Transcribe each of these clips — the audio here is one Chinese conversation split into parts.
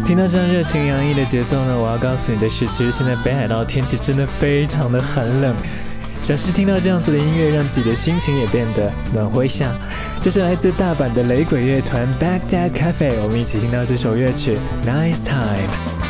听到这样热情洋溢的节奏呢，我要告诉你的是，其实现在北海道天气真的非常的寒冷，想是听到这样子的音乐，让自己的心情也变得暖和一下。这是来自大阪的雷鬼乐团 Baghdad Cafe， 我们一起听到这首乐曲 Nice Time。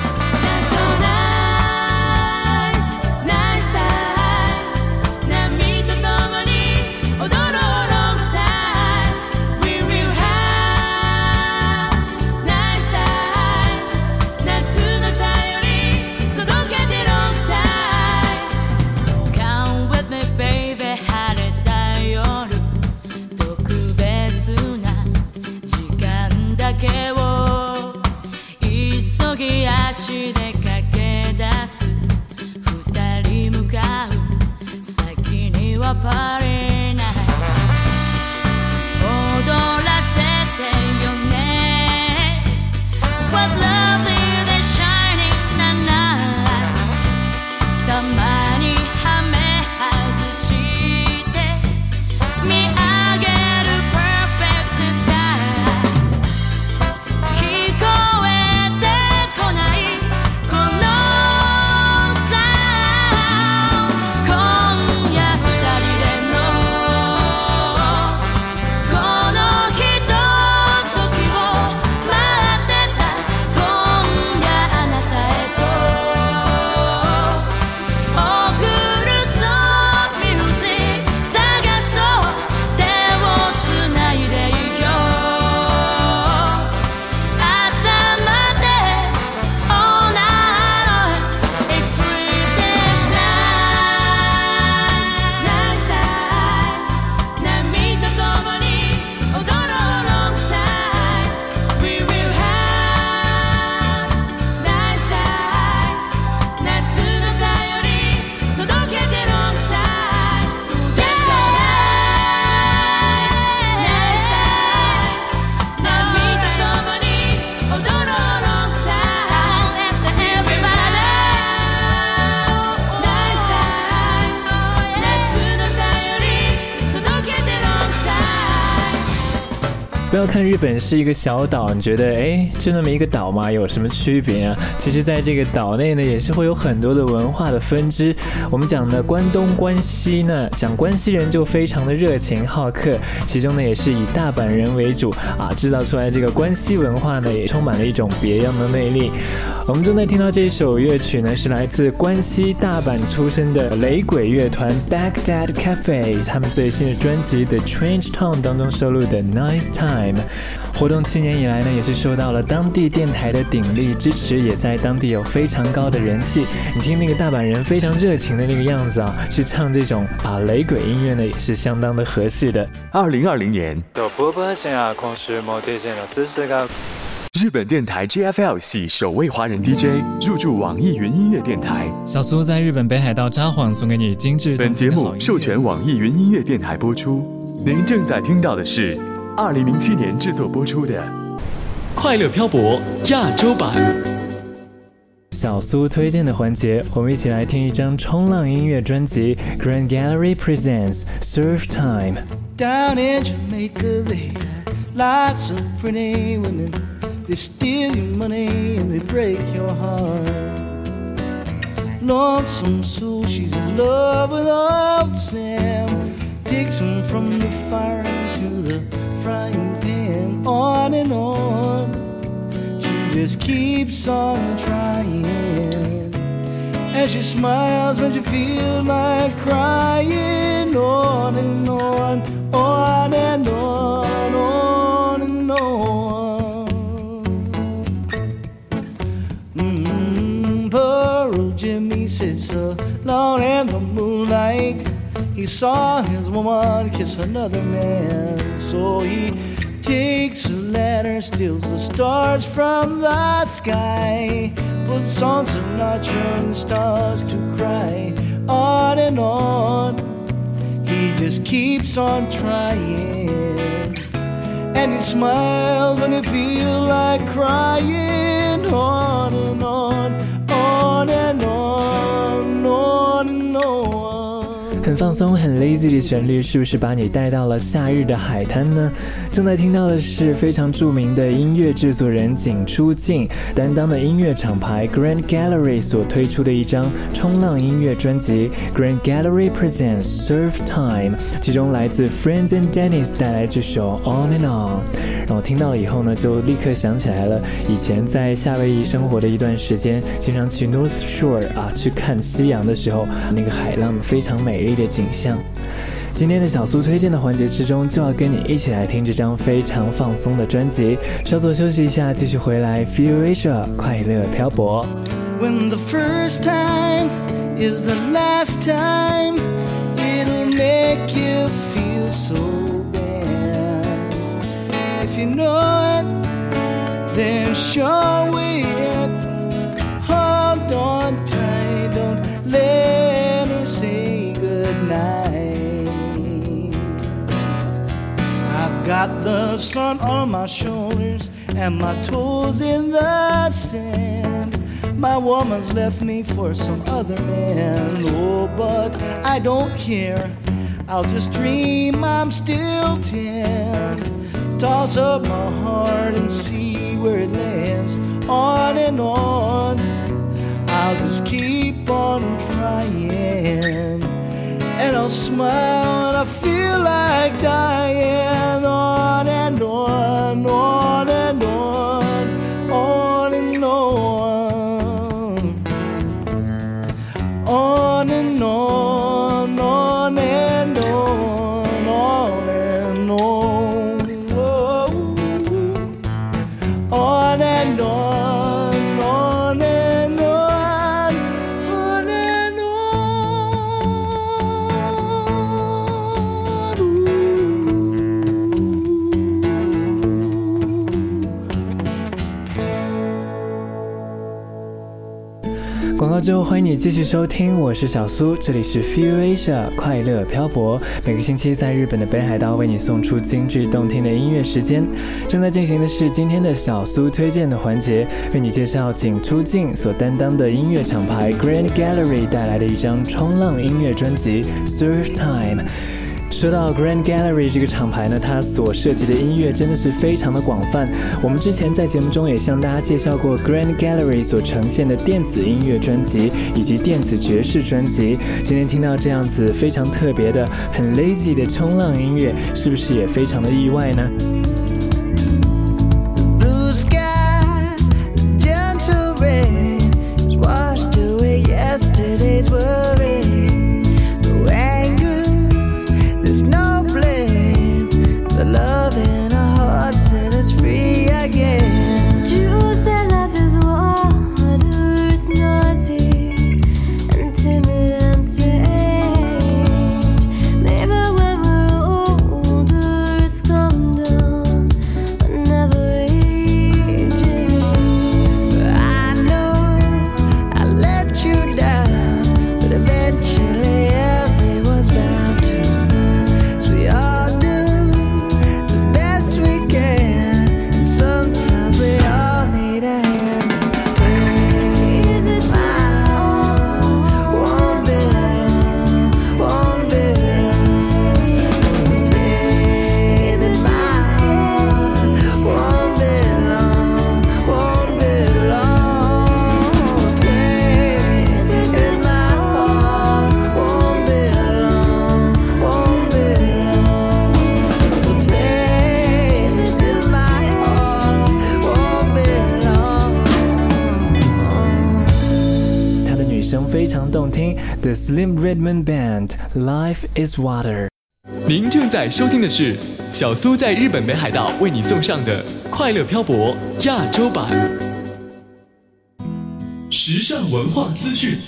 不要看日本是一个小岛，你觉得就那么一个岛嘛，有什么区别啊？其实在这个岛内呢，也是会有很多的文化的分支。我们讲的关东关西呢，讲关西人就非常的热情好客，其中呢也是以大阪人为主啊，制造出来这个关西文化呢，也充满了一种别样的魅力。我们正在听到这首乐曲呢，是来自关西大阪出身的雷鬼乐团 Baghdad Cafe， 他们最新的专辑 The Strange Town 当中收录的 Nice Time。活动7年以来呢，也是受到了当地电台的鼎力支持，也在当地有非常高的人气。你听那个大阪人非常热情的那个样子啊，去唱这种雷鬼音乐呢，也是相当的合适的。 2020年，日本电台 JFL 系首位华人 DJ 入驻网易云音乐电台。 小苏在日本北海道札幌送给你精致。 本节目授权网易云音乐电台播出。您正在听到的是2007年制作播出的《快乐漂泊》亚洲版。 小苏推荐的环节，我们一起来听一张冲浪音乐专辑 Grand Gallery Presents Surf Time。 Down in Jamaica they got lots of pretty women. They steal your money and they break your heart. Lonesome Sue, she's in love with old Sam. Takes him from the fire into the frying pan. On and on, she just keeps on trying. And she smiles when she feels like crying. On and on, on and on, on and on. Poor old Jimmy sits alone in the moonlight. He saw his woman kiss another man, so he takes a ladder, steals the stars from the sky, puts on Sinatra and stars to cry. On and on, he just keeps on trying, and he smiles when he feels like crying. On and on, on and on, on and on. 很很放松很 lazy 的旋律是不是把你带到了夏日的海滩呢？正在听到的是非常著名的音乐制作人井出静担当的音乐厂牌 Grand Gallery 所推出的一张冲浪音乐专辑 Grand Gallery Presents Surf Time， 其中来自 Friends and Dennis 带来这首 On and On， 让我听到了以后呢，就立刻想起来了以前在夏威夷生活的一段时间，经常去 North Shore 去看夕阳的时候，那个海浪非常美丽的景象。今天的小苏推荐的环节之中，就要跟你一起来听这张非常放松的专辑。稍作休息一下，继续回来 Feel Asia 快乐漂泊。 When the first time is the last time, it'll make you feel so bad. If you know it, then show it. Hold on tight, don't let her say goodnight. I've got the sun on my shoulders and my toes in the sand. My woman's left me for some other man. Oh, but I don't care, I'll just dream I'm still 10. Toss up my heart and see where it lands. On and on, I'll just keep on trying. And I'll smile when I feel like dying. On and on, on and on, on and on. On and on, on and on, on and on. Whoa. On and on, on and on, on and on. Ooh. 广告之后，欢迎你继续收听，我是小苏，这里是 Feel Asia 快乐漂泊，每个星期在日本的北海道为你送出精致动听的音乐时间。正在进行的是今天的小苏推荐的环节，为你介绍井出静所担当的音乐厂牌 Grand Gallery 带来的一张冲浪音乐专辑 Surf Time。说到 Grand Gallery 这个厂牌呢，它所涉及的音乐真的是非常的广泛。我们之前在节目中也向大家介绍过 Grand Gallery 所呈现的电子音乐专辑以及电子爵士专辑。今天听到这样子非常特别的很 lazy 的冲浪音乐，是不是也非常的意外呢？ Blue skies, gentle rain has washed away yesterday's worry. No blame, the love in our hearts set us free again. You said love is water, it's naughty and timid and strange. Maybe when we're older, it's calm down, but never aging. I know I let you down, but eventually everyone's bound to. We all do the best we can, and sometimes we all need a hand. My heart won't be long, won't be long. Please, my heart won't be long, won't be long. Please, my heart won't be long, won't be long. The place in my heart won't be long. 他的女声非常动听 The Slim Redman Band Life is Water。 您正在收听的是小苏在日本北海道为你送上的快乐漂泊亚洲版时尚文化资讯。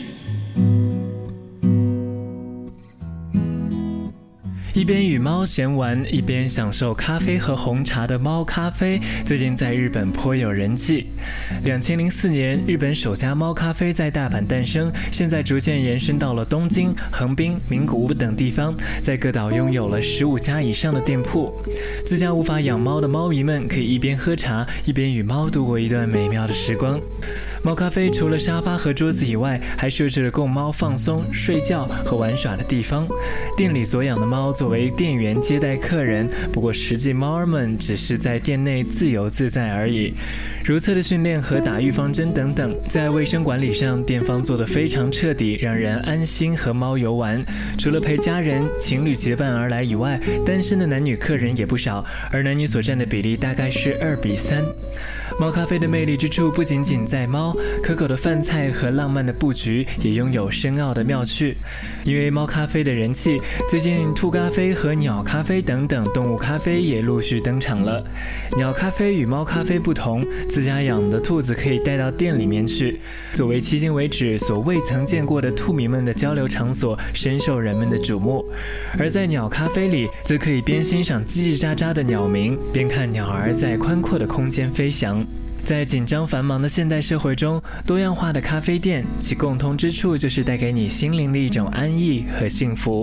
一边与猫闲玩，一边享受咖啡和红茶的猫咖啡，最近在日本颇有人气。2004年，日本首家猫咖啡在大阪诞生，现在逐渐延伸到了东京、横滨、名古屋等地方，在各岛拥有了15家以上的店铺。自家无法养猫的猫迷们可以一边喝茶，一边与猫度过一段美妙的时光。 猫咖啡除了沙发和桌子以外，还设置了供猫放松、睡觉和玩耍的地方。店里所养的猫作为店员接待客人，不过实际猫儿们只是在店内自由自在而已。如厕的训练和打预防针等等，在卫生管理上，店方做得非常彻底，让人安心和猫游玩。除了陪家人、情侣结伴而来以外，单身的男女客人也不少，而男女所占的比例大概是2:3。猫咖啡的魅力之处不仅仅在猫，可口的饭菜和浪漫的布局也拥有深奥的妙趣。因为猫咖啡的人气，最近兔咖啡和鸟咖啡等等动物咖啡也陆续登场了。鸟咖啡与猫咖啡不同，自家养的兔子可以带到店里面去，作为迄今为止所未曾见过的兔迷们的交流场所，深受人们的瞩目。而在鸟咖啡里，则可以边欣赏叽叽喳喳的鸟鸣，边看鸟儿在宽阔的空间飞翔。在紧张繁忙的现代社会中，多样化的咖啡店，其共通之处就是带给你心灵的一种安逸和幸福。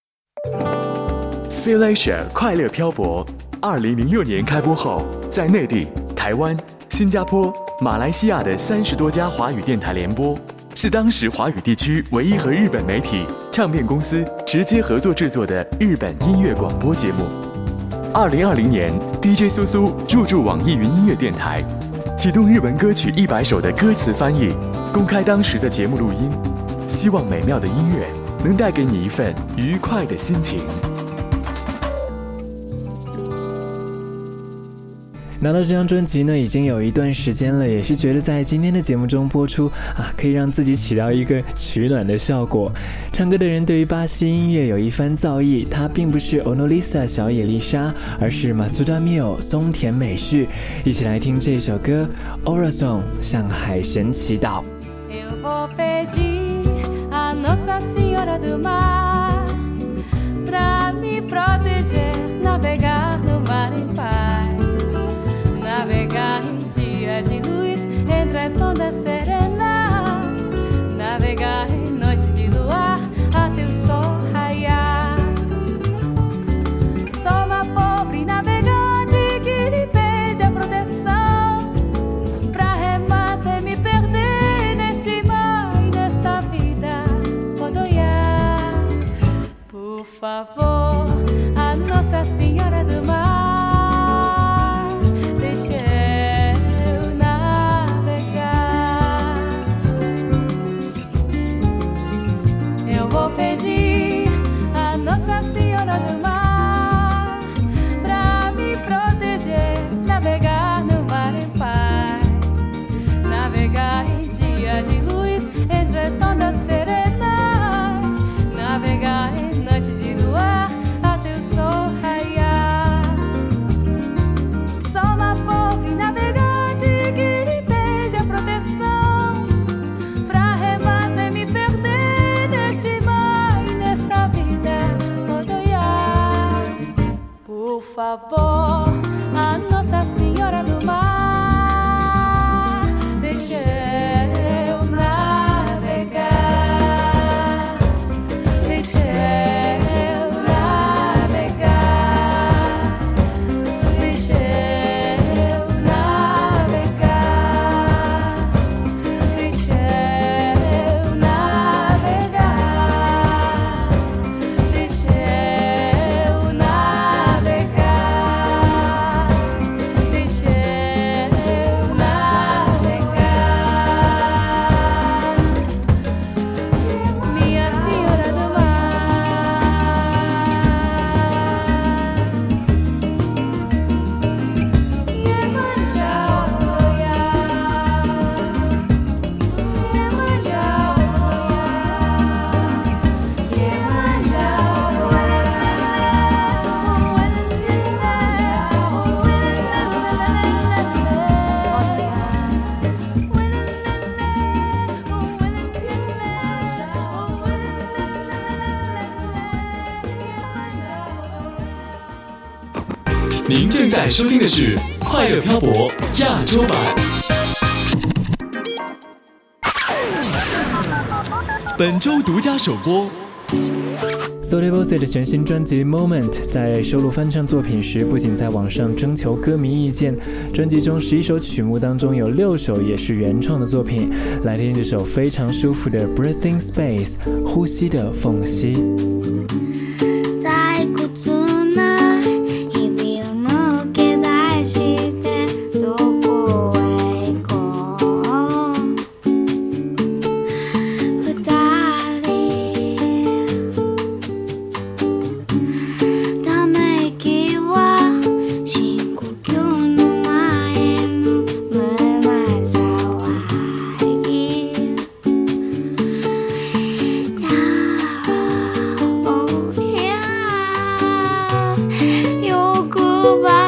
Feel Asia 快乐漂泊，2006年开播后，在内地、台湾、新加坡、马来西亚的30多家华语电台联播，是当时华语地区唯一和日本媒体、唱片公司直接合作制作的日本音乐广播节目。2020年 ，DJ 苏苏入驻网易云音乐电台，启动日文歌曲100首的歌词翻译，公开当时的节目录音，希望美妙的音乐能带给你一份愉快的心情。 拿到这张专辑呢，已经有一段时间了，也是觉得在今天的节目中播出可以让自己起到一个取暖的效果。唱歌的人对于巴西音乐有一番造诣，他并不是 Onolisa 小野丽莎，而是 Matsuda Mio 松田美绪。一起来听这首歌 Oração 向海神祈祷。 Eu vou pedir a Nossa Senhora do Mar pra me proteger, navegar no mar em paz, navegar em dia de luz entre as ondas serenas, navegar em noite de luar até o sol raiar. Sou uma pobre navegante que lhe pede a proteção pra remar sem me perder neste mar e nesta vida rodoiar. Por favor, a Nossa Senhora do Mar, deixe eu navegar. Eu vou pedir a Nossa Senhora do Mar pra me proteger, navegar no mar em paz, navegar em dia de luz entre as ondas serenas, navegar em noite de luar até o sol raiar. Sou uma pobre navegante que lhe pede a proteção pra remar sem me perder neste mar e nesta vida rodoiar. Por favor, a Nossa Senhora do Mar, deixe eu navegar, deixe eu navegar, deixe eu navegar, deixe eu navegar, deixe eu navegar, deixe eu navegar, minha Senhora do Mar. Iemanjá, Oiá, Iemanjá, Oiá, Iemanjá, 您正在收听的是《快乐漂泊》亚洲版。本周独家首播。 Sotevose 的全新专辑 Moment 在收录翻唱作品时，不仅在网上征求歌迷意见，专辑中11首曲目当中有6首也是原创的作品。来听这首非常舒服的 Breathing Space 呼吸的缝隙。 Goodbye.